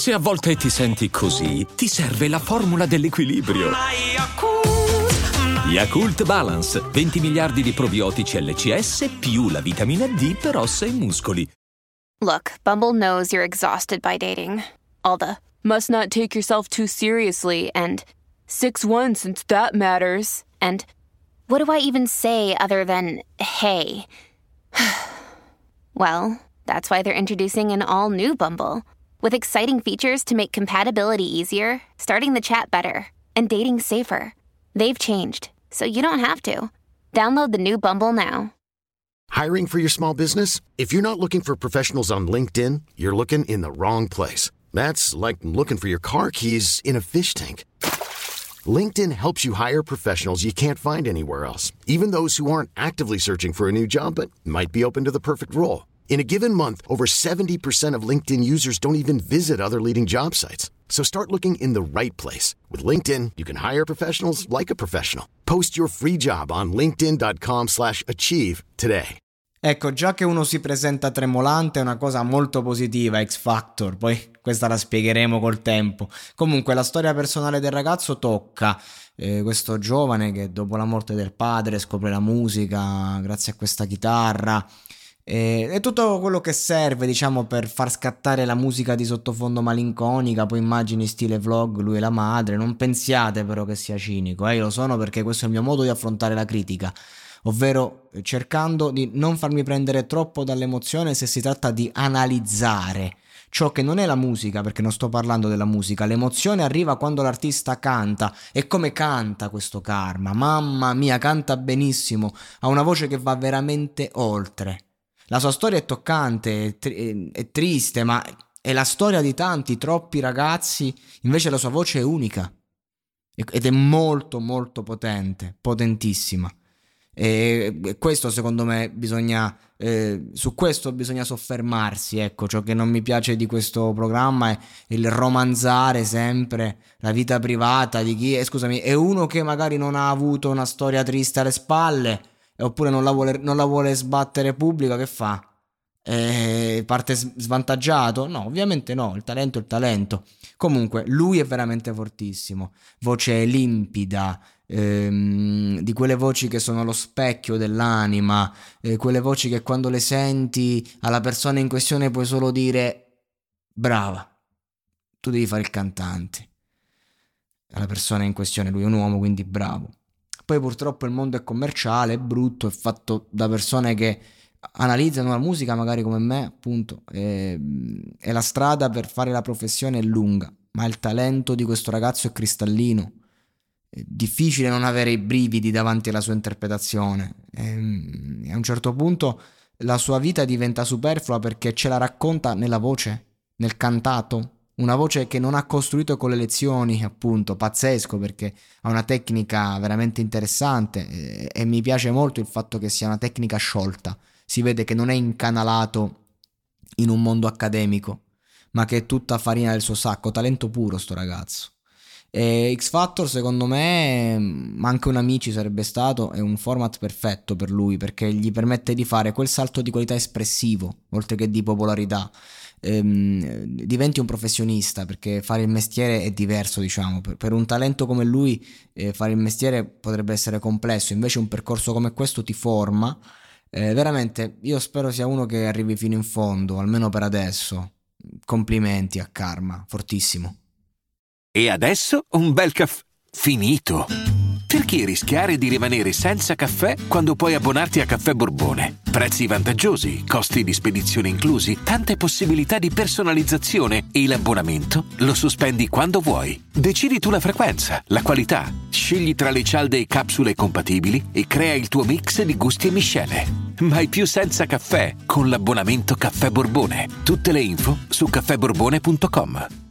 Se a volte ti senti così, ti serve la formula dell'equilibrio. Yakult Balance, 20 miliardi di probiotici LCS più la vitamina D per ossa e muscoli. Look, Bumble knows you're exhausted by dating. All the must not take yourself too seriously and 6'1" since that matters. And what do I even say other than hey? Well, that's why they're introducing an all-new Bumble with exciting features to make compatibility easier, starting the chat better, and dating safer. They've changed, so you don't have to. Download the new Bumble now. Hiring for your small business? If you're not looking for professionals on LinkedIn, you're looking in the wrong place. That's like looking for your car keys in a fish tank. LinkedIn helps you hire professionals you can't find anywhere else, even those who aren't actively searching for a new job but might be open to the perfect role. In a given month, over 70% of LinkedIn users don't even visit other leading job sites. So start looking in the right place. With LinkedIn, you can hire professionals like a professional. Post your free job on linkedin.com/achieve today. Ecco, già che uno si presenta tremolante è una cosa molto positiva, X Factor, poi questa la spiegheremo col tempo. Comunque la storia personale del ragazzo tocca questo giovane che dopo la morte del padre scopre la musica grazie a questa chitarra. È tutto quello che serve, diciamo, per far scattare la musica di sottofondo malinconica, poi immagini stile vlog, lui e la madre. Non pensiate però che sia cinico, io lo sono perché questo è il mio modo di affrontare la critica, ovvero cercando di non farmi prendere troppo dall'emozione se si tratta di analizzare ciò che non è la musica, perché non sto parlando della musica. L'emozione arriva quando l'artista canta, e come canta questo Karma, mamma mia, canta benissimo, ha una voce che va veramente oltre. La sua storia è toccante, è triste, ma è la storia di tanti, troppi ragazzi. Invece la sua voce è unica ed è molto molto potente, potentissima. E questo secondo me su questo bisogna soffermarsi. Ecco, ciò che non mi piace di questo programma è il romanzare sempre la vita privata di chi è uno che magari non ha avuto una storia triste alle spalle, oppure non la vuole sbattere pubblica. Che fa? Parte svantaggiato? No, ovviamente no, il talento è il talento. Comunque lui è veramente fortissimo, voce limpida, di quelle voci che sono lo specchio dell'anima, quelle voci che quando le senti alla persona in questione puoi solo dire brava, tu devi fare il cantante. Alla persona in questione, lui è un uomo, quindi bravo. Poi purtroppo il mondo è commerciale, è brutto, è fatto da persone che analizzano la musica magari come me, appunto, e la strada per fare la professione è lunga, ma il talento di questo ragazzo è cristallino. È difficile non avere i brividi davanti alla sua interpretazione. A un certo punto la sua vita diventa superflua perché ce la racconta nella voce, nel cantato. Una voce che non ha costruito con le lezioni, appunto, pazzesco, perché ha una tecnica veramente interessante e mi piace molto il fatto che sia una tecnica sciolta. Si vede che non è incanalato in un mondo accademico, ma che è tutta farina del suo sacco, talento puro sto ragazzo. E X Factor secondo me, ma anche un Amici sarebbe stato, è un format perfetto per lui, perché gli permette di fare quel salto di qualità espressivo, oltre che di popolarità. Diventi un professionista, perché fare il mestiere è diverso, diciamo. Per un talento come lui fare il mestiere potrebbe essere complesso, invece un percorso come questo ti forma. Veramente io spero sia uno che arrivi fino in fondo, almeno per adesso. Complimenti a Karma, fortissimo. E adesso un bel caffè finito. Perché rischiare di rimanere senza caffè quando puoi abbonarti a Caffè Borbone? Prezzi vantaggiosi, costi di spedizione inclusi, tante possibilità di personalizzazione e l'abbonamento lo sospendi quando vuoi. Decidi tu la frequenza, la qualità, scegli tra le cialde e capsule compatibili e crea il tuo mix di gusti e miscele. Mai più senza caffè con l'abbonamento Caffè Borbone. Tutte le info su caffèborbone.com.